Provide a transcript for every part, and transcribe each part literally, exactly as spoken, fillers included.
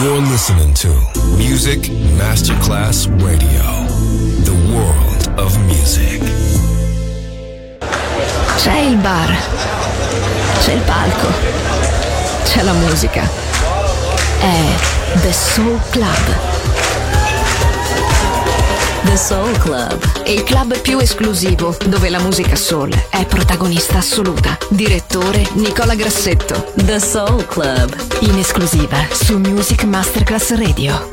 You're listening to Music Masterclass Radio, the world of music. C'è il bar, c'è il palco, c'è la musica. È The Soul Club. The Soul Club, il club più esclusivo dove la musica soul è protagonista assoluta. Direttore Nicola Grassetto. The Soul Club, in esclusiva su Music Masterclass Radio.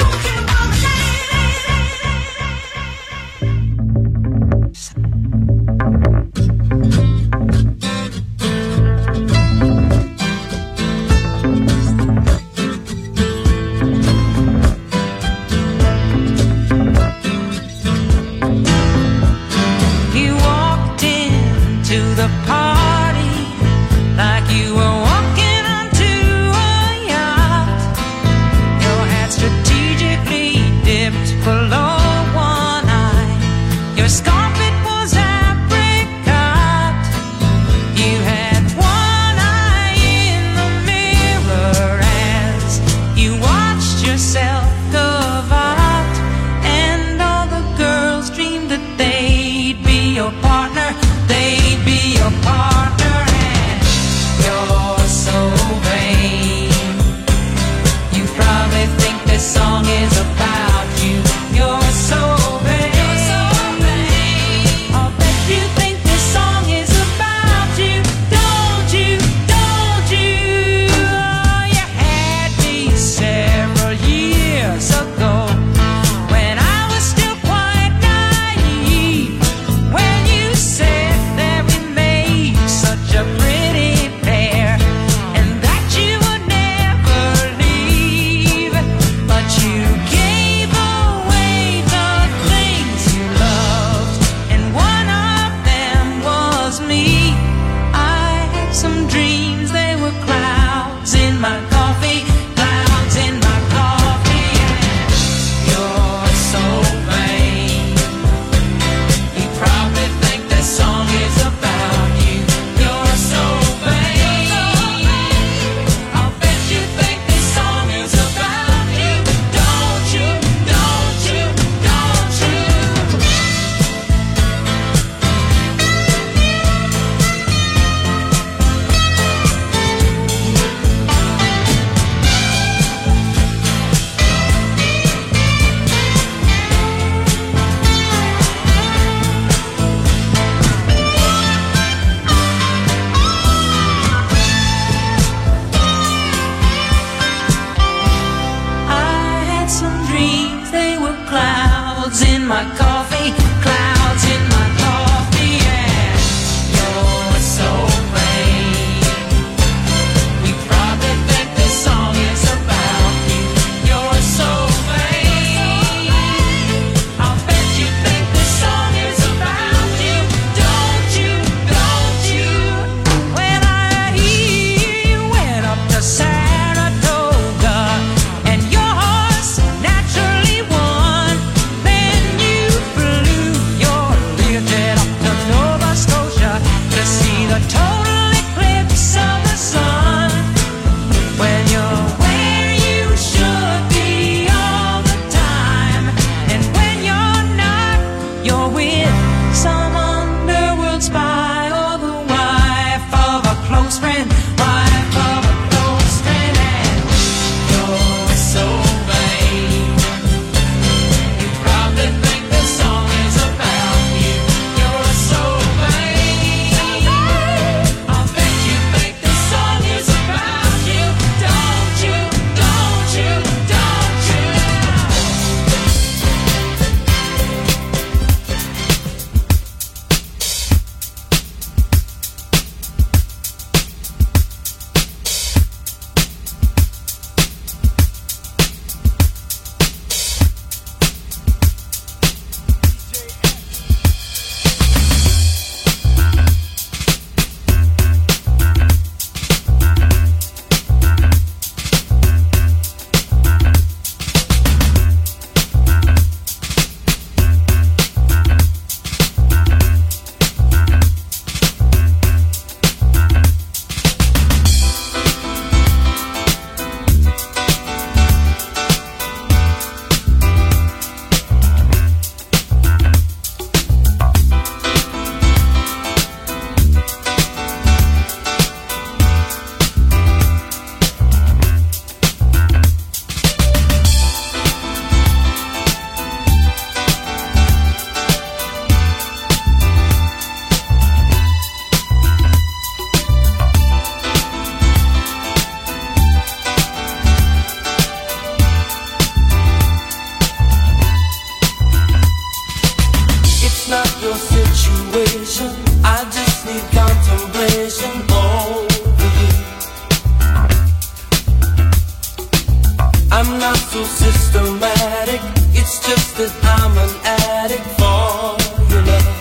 You I'm not so systematic, it's just that I'm an addict for your love.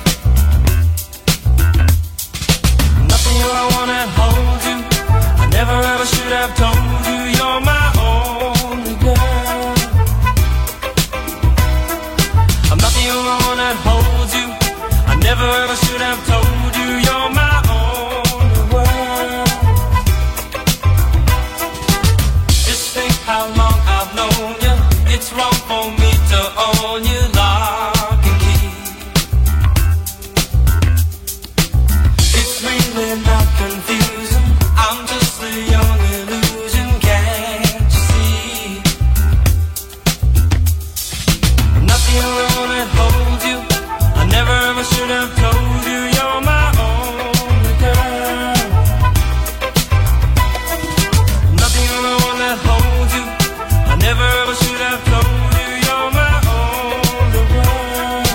Nothing I wanna hold you, I never ever should have told you you're my only girl. I'm not the only one that holds you, I never ever should have told you you're my only world. Just think how long I've known you, it's wrong for me to own you lock and key. It's really not confusing, I'm just a young illusion, can't you see? I'm not the only one that holds you, I never ever should have told you you're my only girl. I'm not the only one that holds you, I never ever should have told you you're my only world.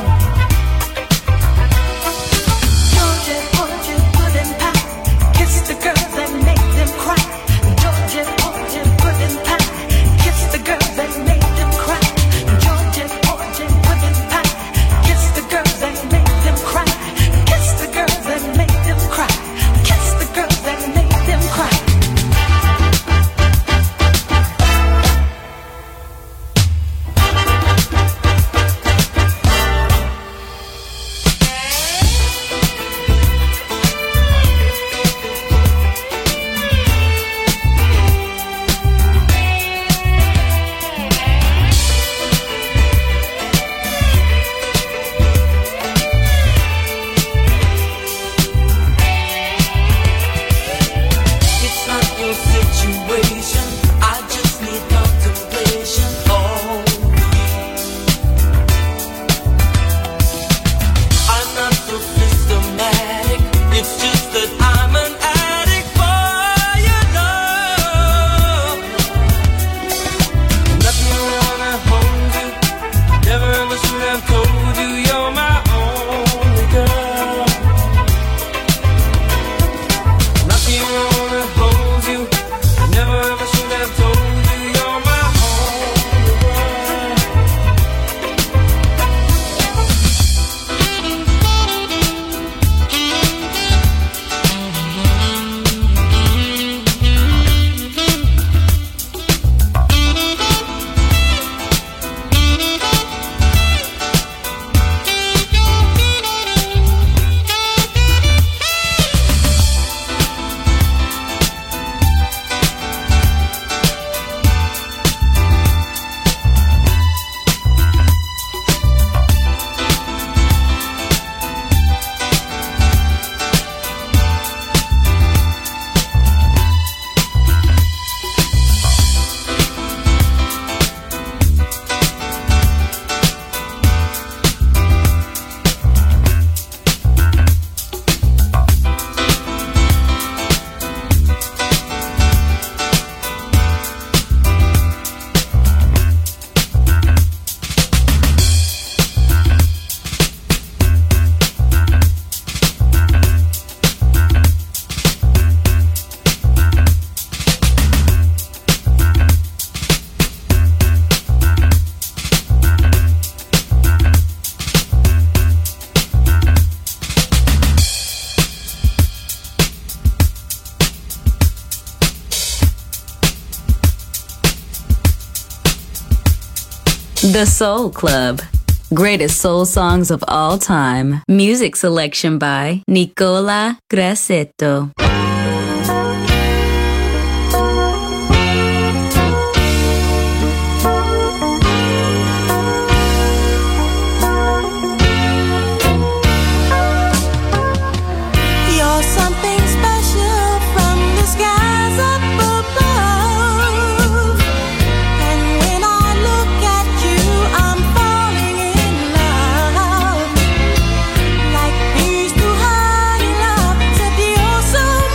Georgia, Georgia, pudding pie, kiss the girls and make them cry. Georgia, Georgia, pudding pie, kiss the girls and make them cry. Georgia, Georgia, pudding pie, kiss the girls and make them cry. Kiss the girls and make them cry. Kiss the girls and make them cry. It's not your situation, I just need contemplation over you. I'm not so systematic, it's just that I'm an addict for your love. Nothing around that holds you, never ever should have told you you're my only girl. Not the only one that holds you, I never ever should have told you you're my only world. The Soul Club. Greatest soul songs of all time. Music selection by Nicola Grassetto. You're something special from the skies up above. And when I look at you, I'm falling in love. Like bees too high love, said you're so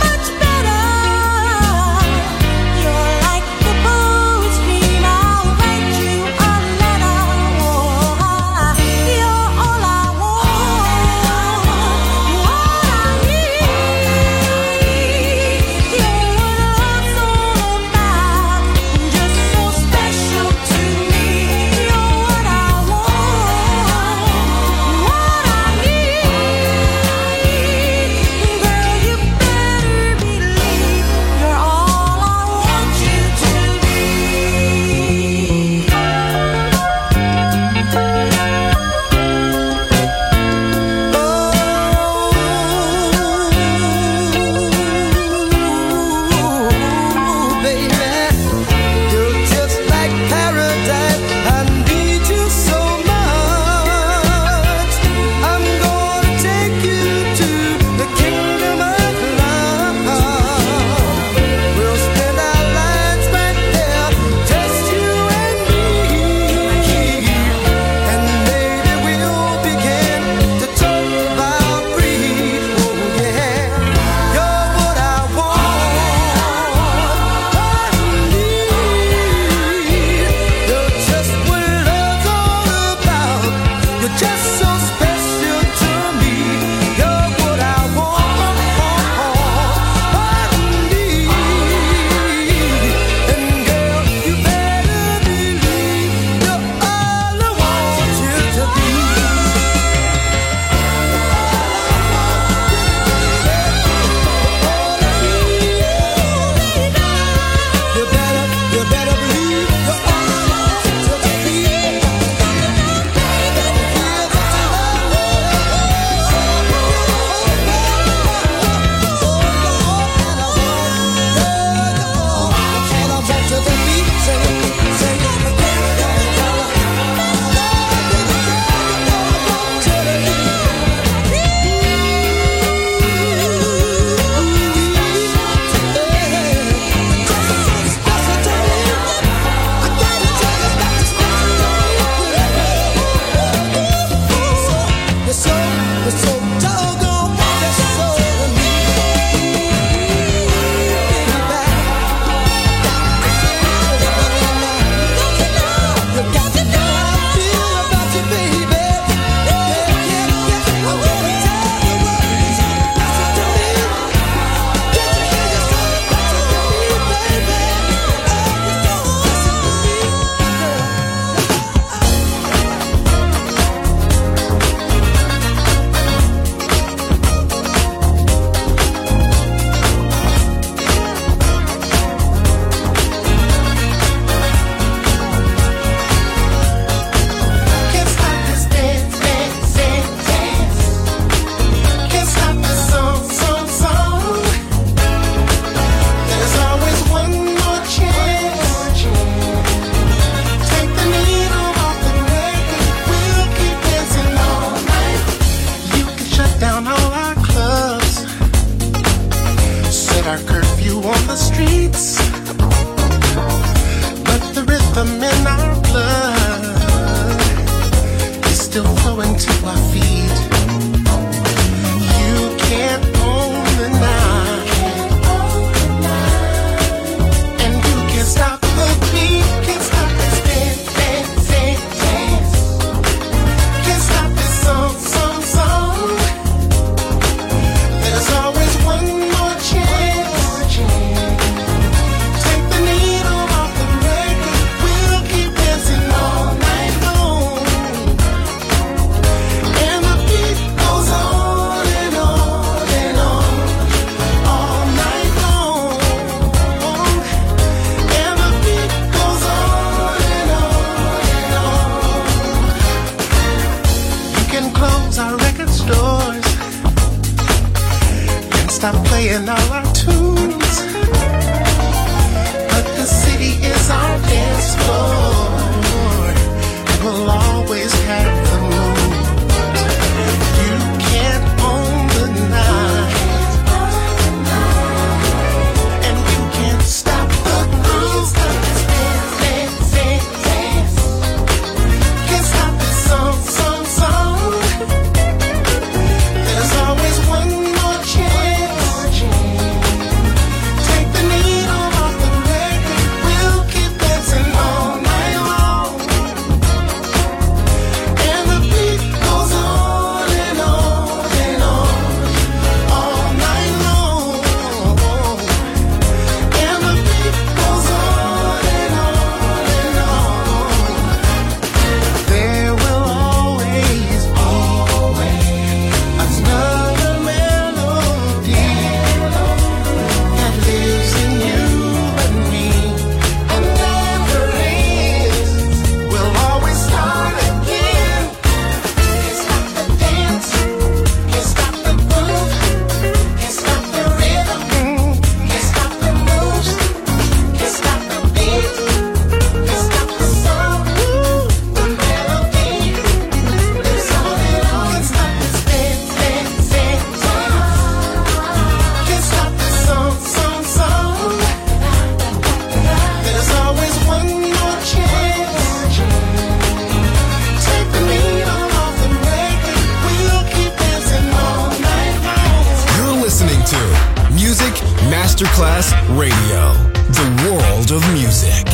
Masterclass Radio, the world of music.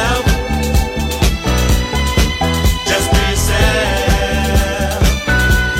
Just be yourself.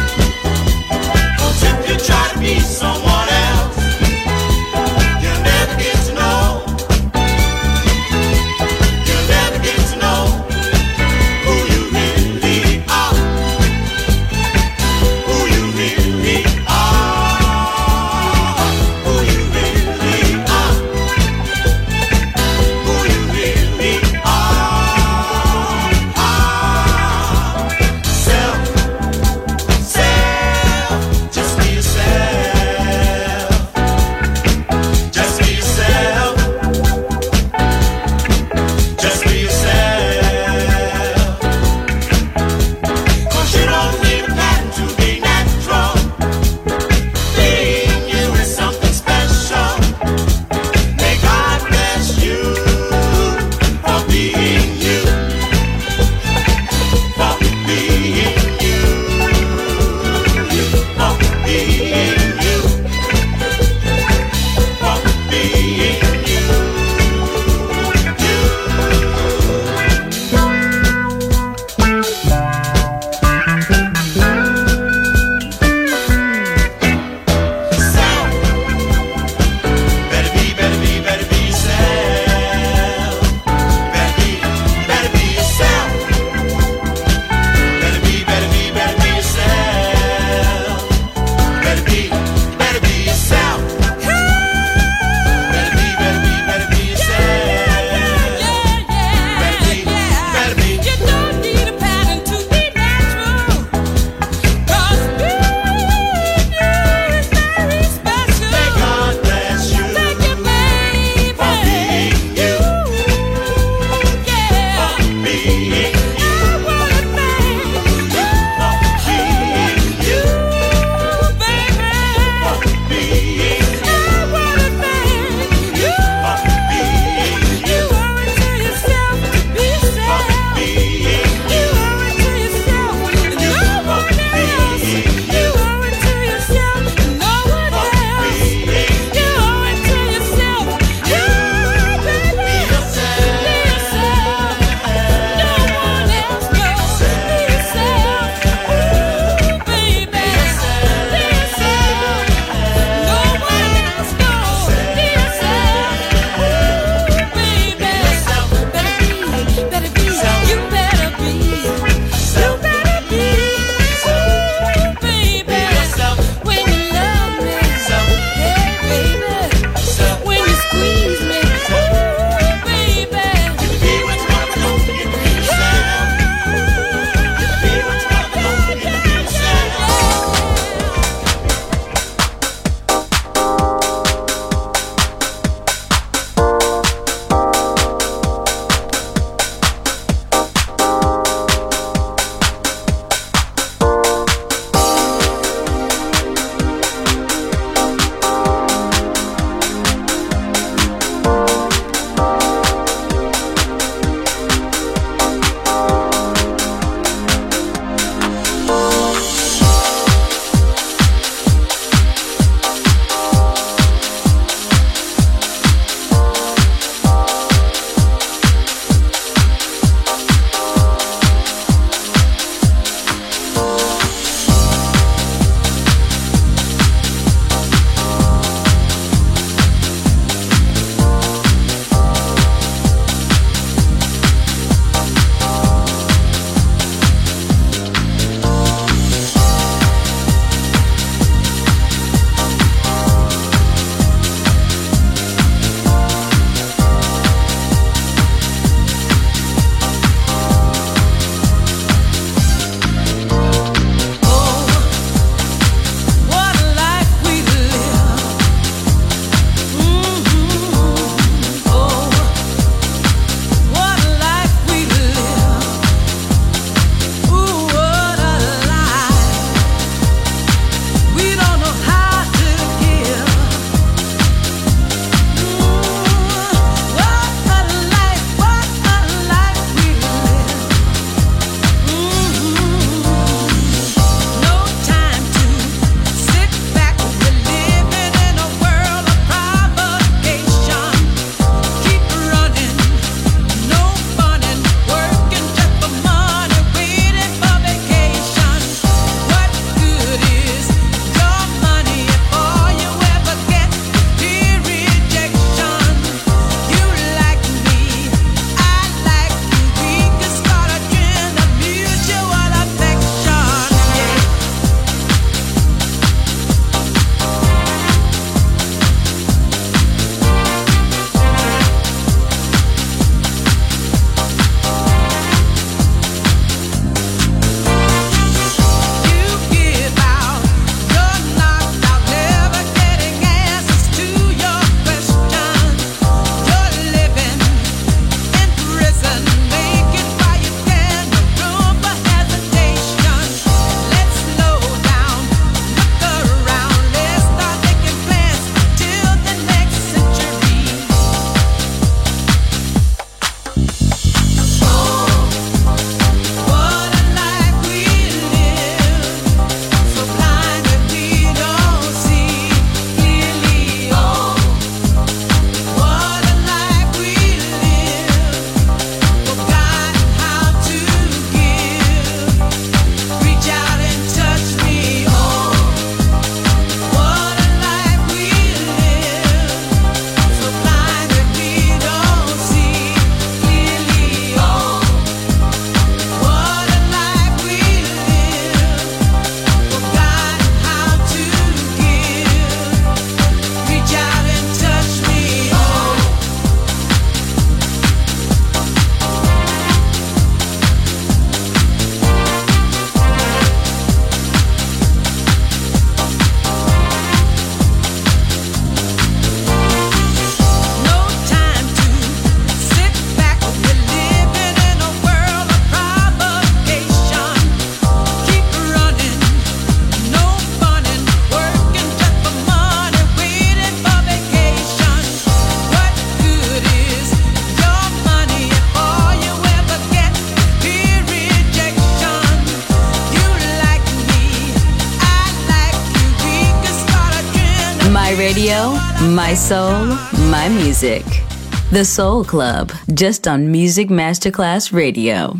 My radio, my soul, my music. The Soul Club, just on Music Masterclass Radio.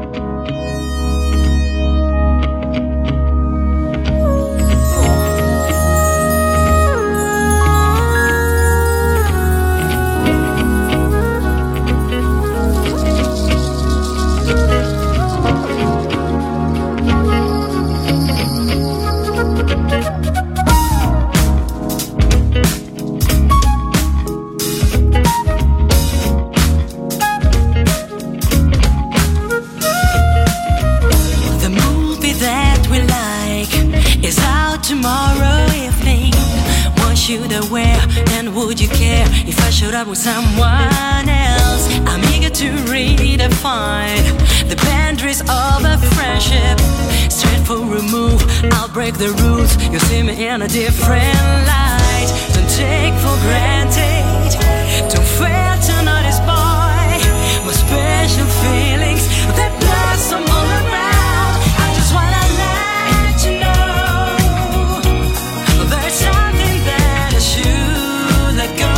With someone else, I'm eager to redefine the boundaries of a friendship. Straight for a move, I'll break the rules. You'll see me in a different light. Don't take for granted, don't fail to notice, boy, my special feelings that blossom all around. I just wanna let you know there's something that I should let go.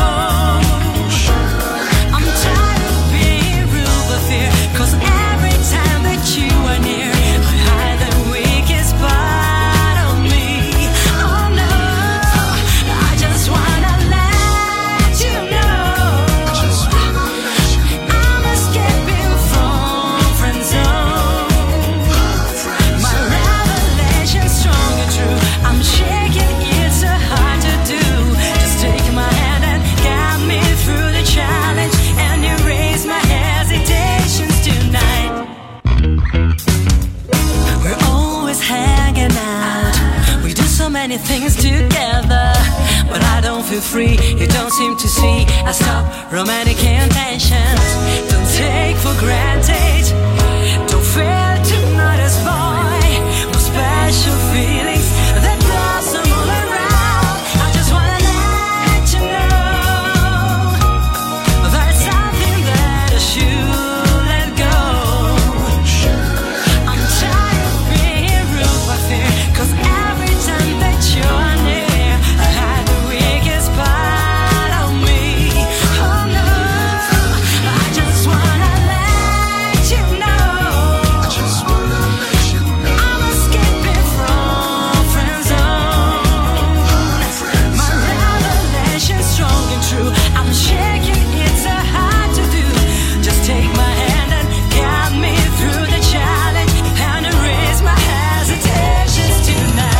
Many things together, but I don't feel free. You don't seem to see. I stop romantic intentions. Don't take for granted. Don't fail to notice, boy, my special feelings that blossom all around. I just wanna let you know there's something that I should let go. I'm tired of being rude by fear, 'cause every time that you're near, I hide the weakest part of me. Oh no, I just wanna let you know. I just wanna let you know. I'm escaping from friend zone. My revelation's strong and true. I'm shaking, it's so hard to do. Just take my hand and guide me through the challenge and erase my hesitations tonight.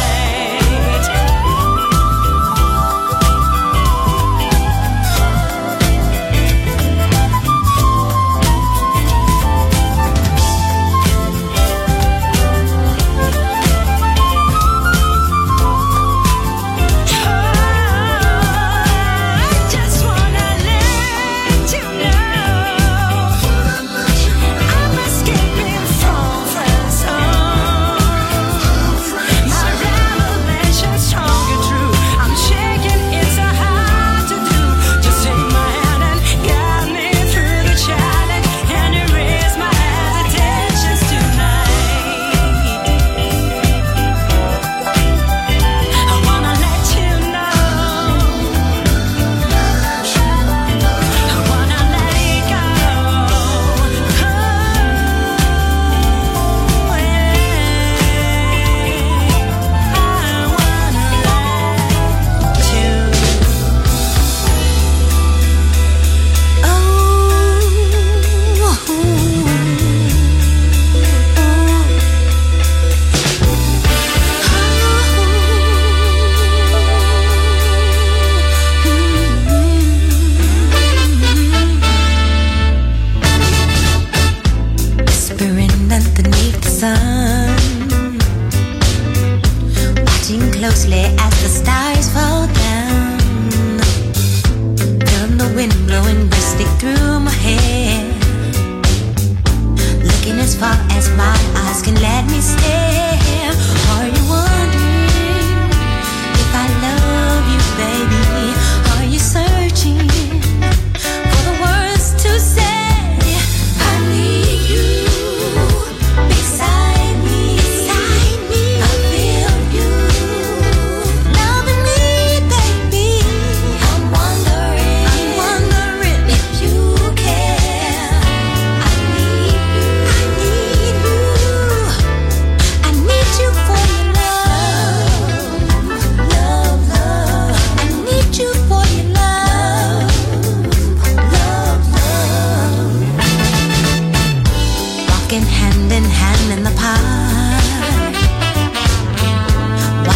Beside me, I feel you loving me, baby.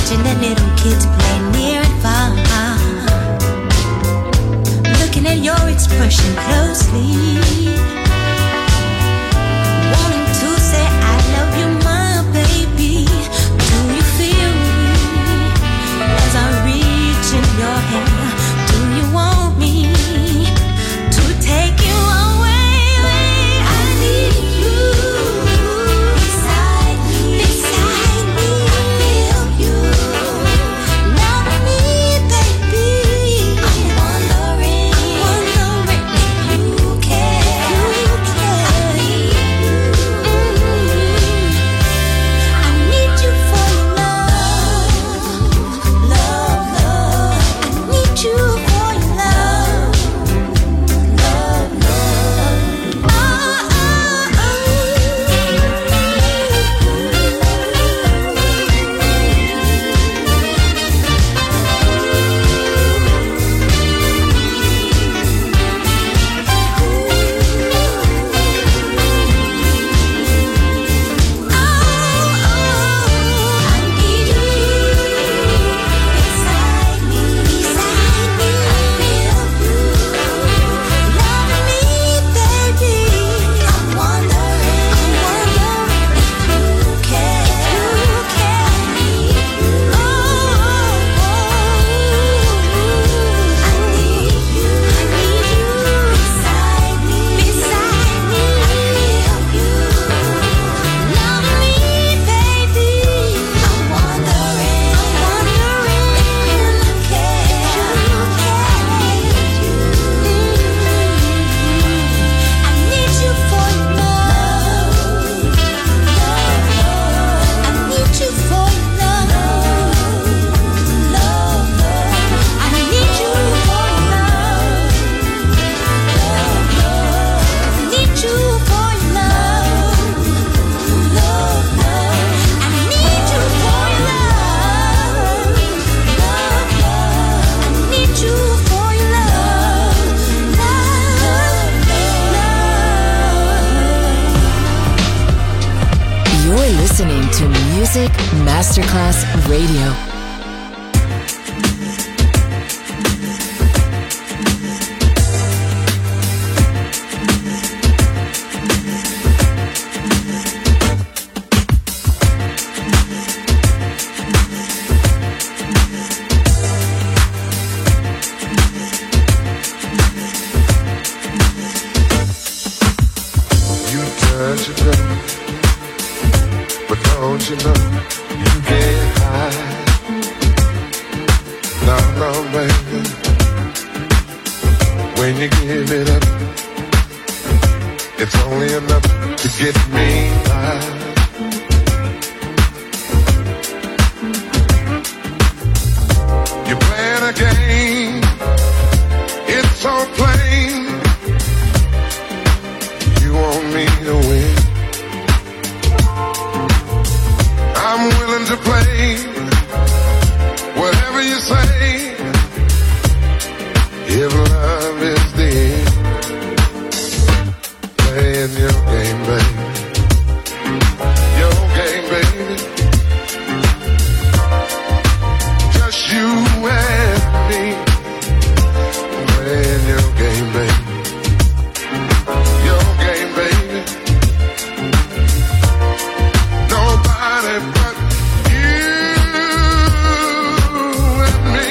watching the little kids play near and far, looking at your expression closely, wanting to say I love you, my baby. Do you feel me as I reach in your hand? Do you want me to take you away? I need you beside me, beside me. I feel you love me, baby. I'm wondering, wondering if you care, you care. I need you, I need you for your love, love, love. I need you for your love, love, love. Oh, oh, I need you beside me, beside me. I feel you love me, baby. I'm wondering, I'm wondering if you care, you care. I need you, oh, oh, I need you, I need you beside me, beside me. I feel you love me, baby. I'm wondering, I'm wondering if you care, you care. I need you, I need you for your love, love, love. I need you for your love, love, love. I need you for your love, love, love. I need you for your love, love, love. I need you for your love, love, love. I need you for your love, love, love. You're listening to Music Masterclass Radio. You touch it up, but don't you know you can't hide? No, no, baby. When you give it up, it's only enough to get me by. You're playing a game, it's so plain. You want me to win. I'm willing to play whatever you say, if love is the end. Playing your game, baby. Your game, baby. Just you and me. Playing your game, baby. Your game, baby. Nobody but you and me.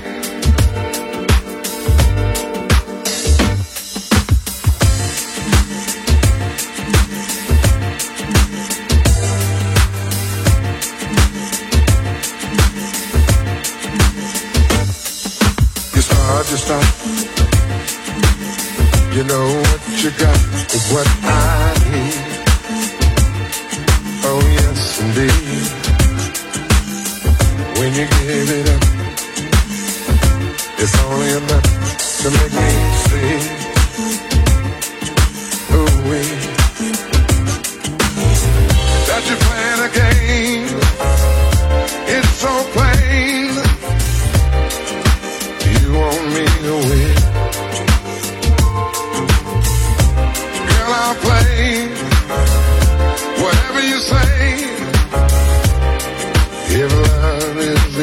You start, you start. You know what you got is what I need. Oh yes, indeed. When you give it up, it's only enough to make me see. Ooh, wee. That you're playing a game, it's so plain. You want me to win. Girl, I'll play whatever you say, if love is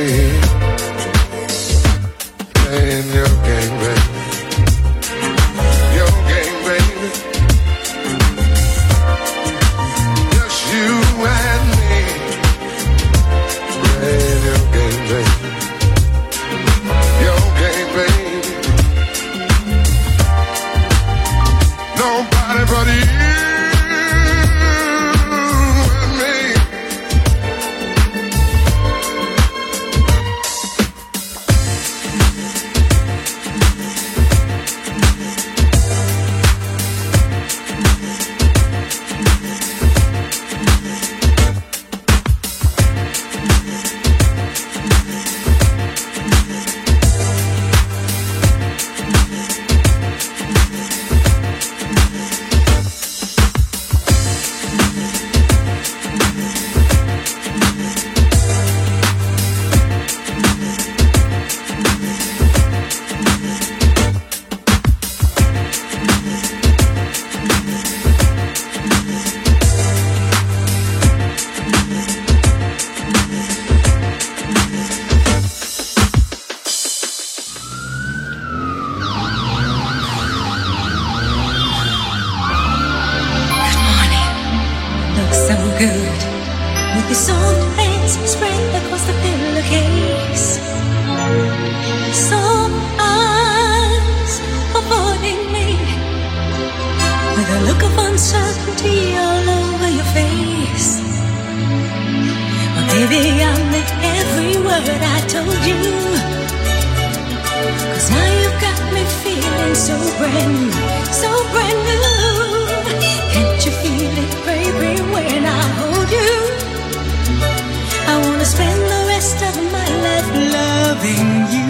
word I told you. 'Cause now you've got me feeling so brand new, so brand new. Can't you feel it, baby, when I hold you? I wanna spend the rest of my life loving you.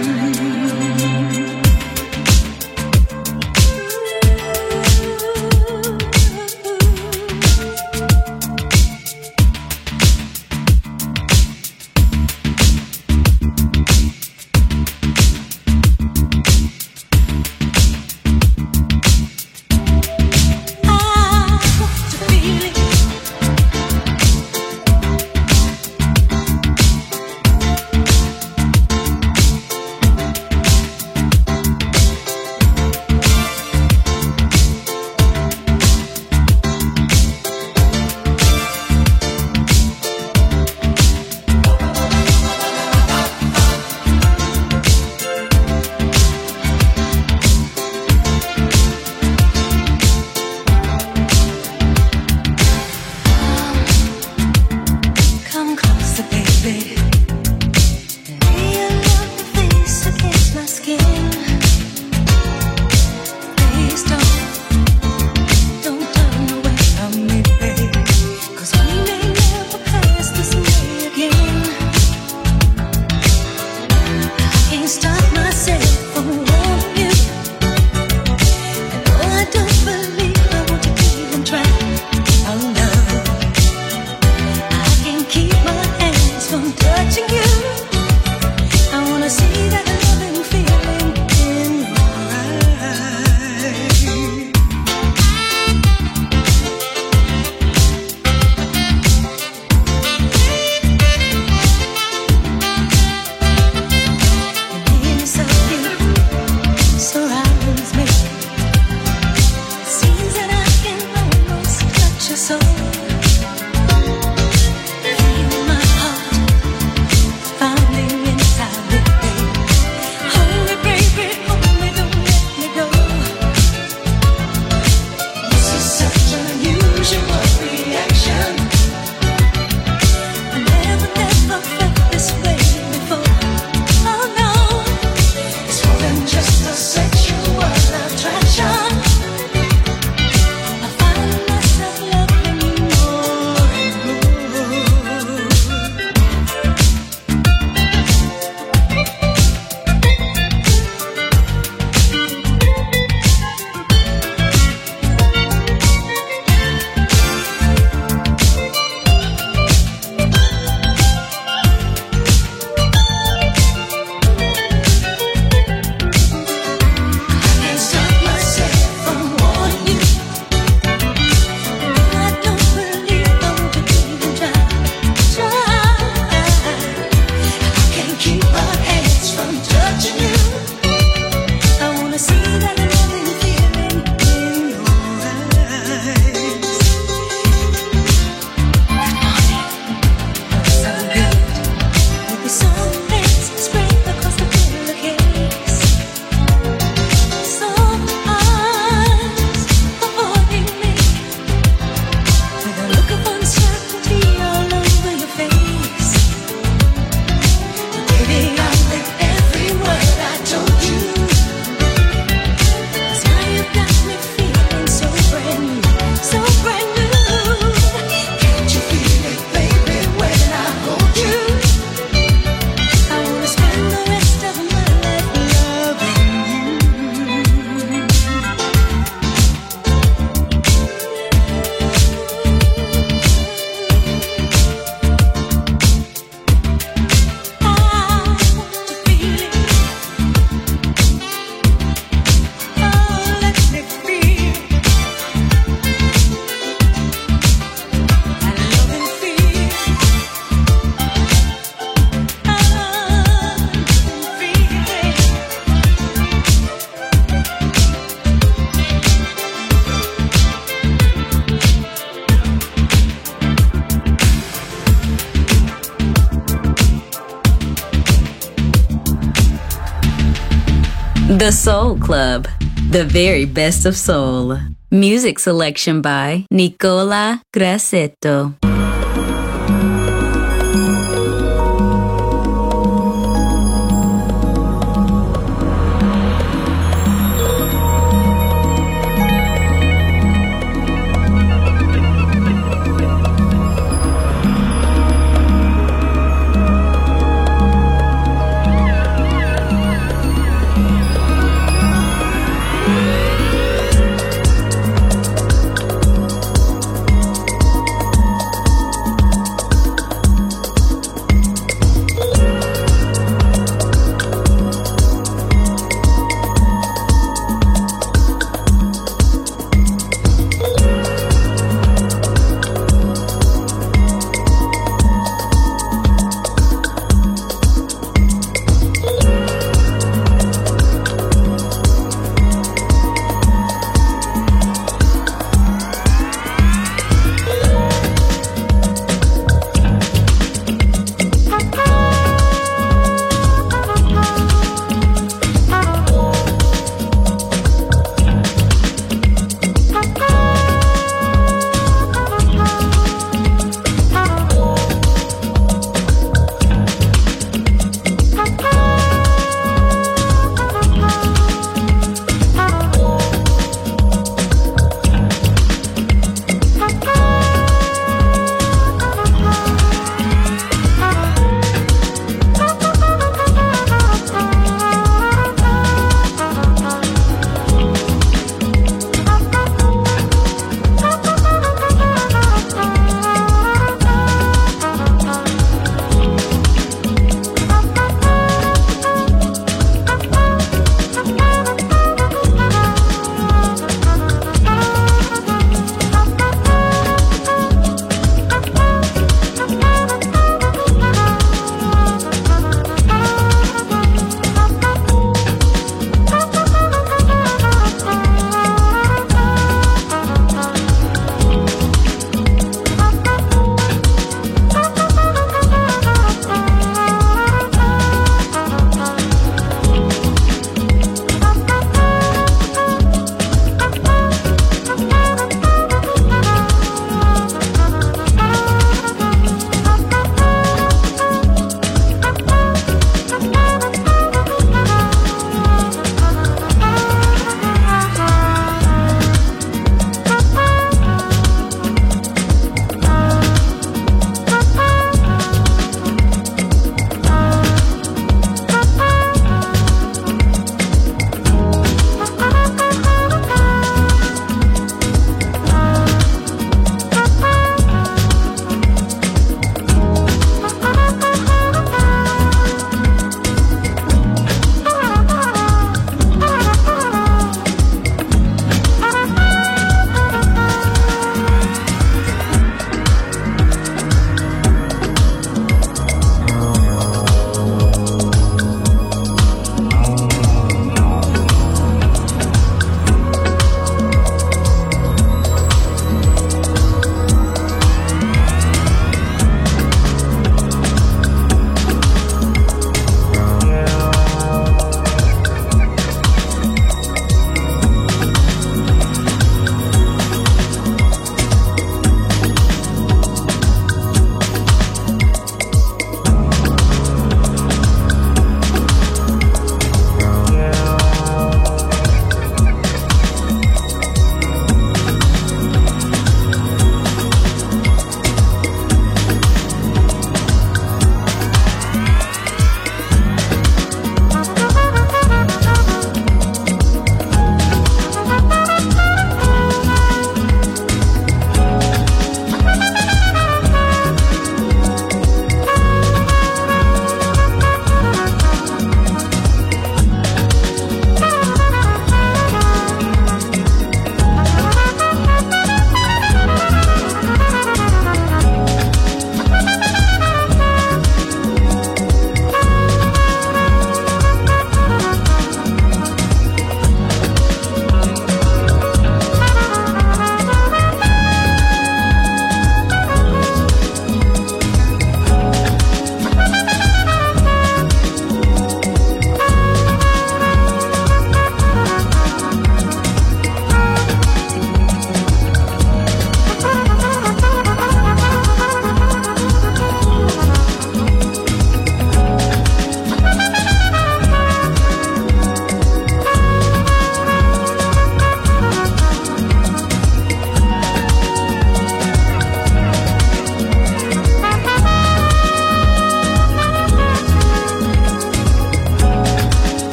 The Soul Club, the very best of soul. Music selection by Nicola Grassetto.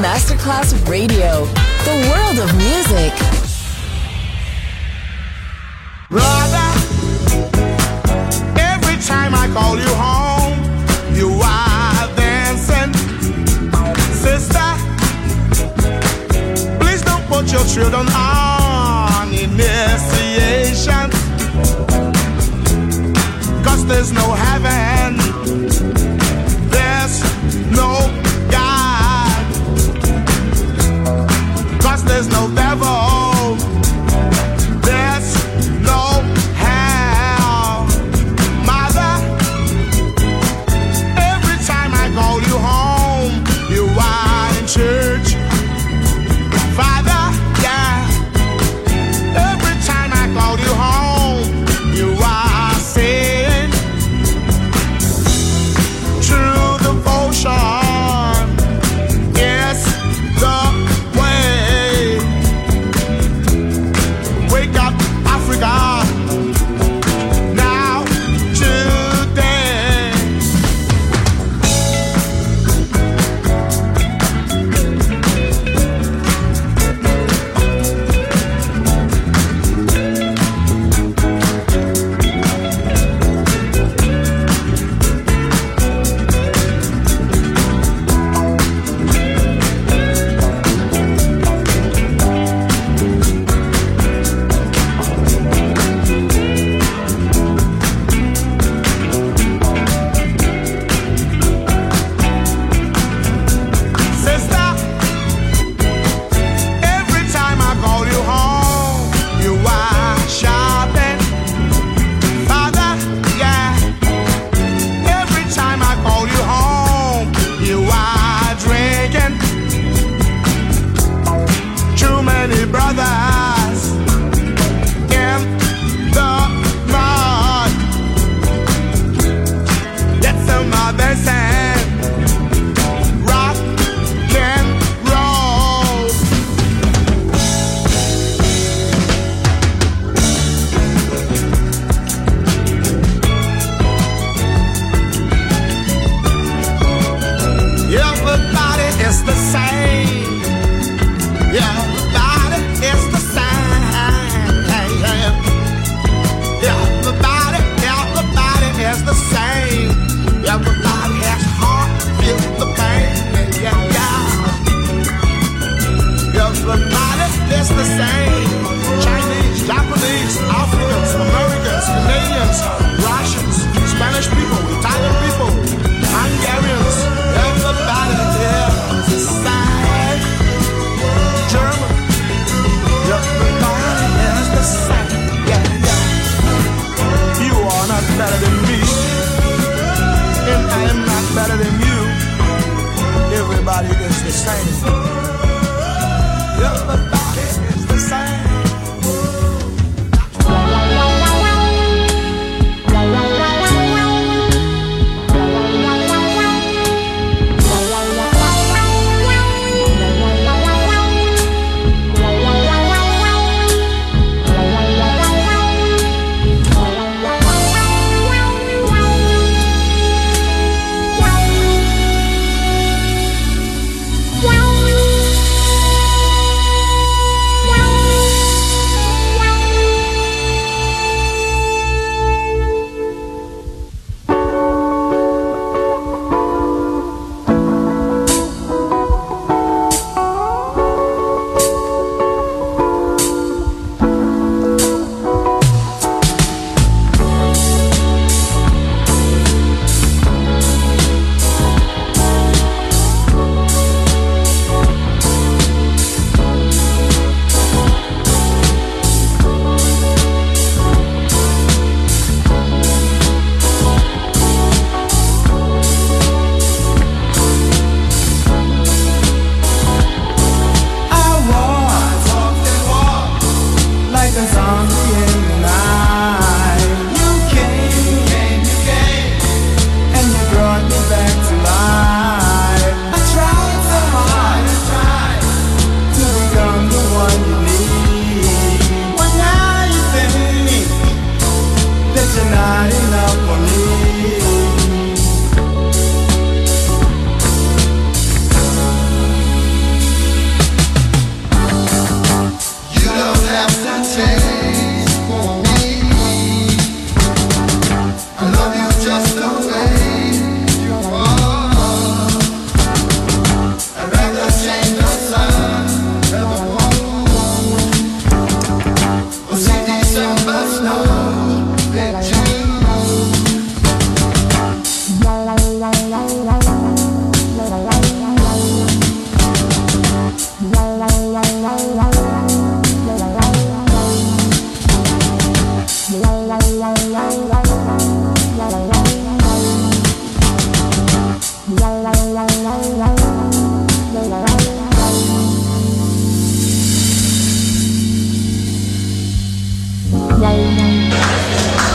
Masterclass Radio, the world of music. Brother, every time I call you home, you are dancing. Sister, please don't put your children on initiation, 'cause there's no heaven, there's no God, 'cause there's no devil, there's no hell. Mother, every time I call you home, you are in church. Father, yeah,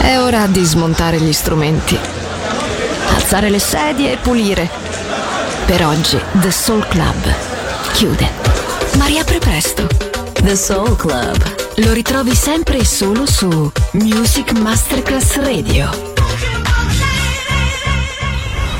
È ora di smontare gli strumenti, alzare le sedie e pulire. Per oggi The Soul Club chiude, ma riapre presto. The Soul Club. Lo ritrovi sempre e solo su Music Masterclass Radio.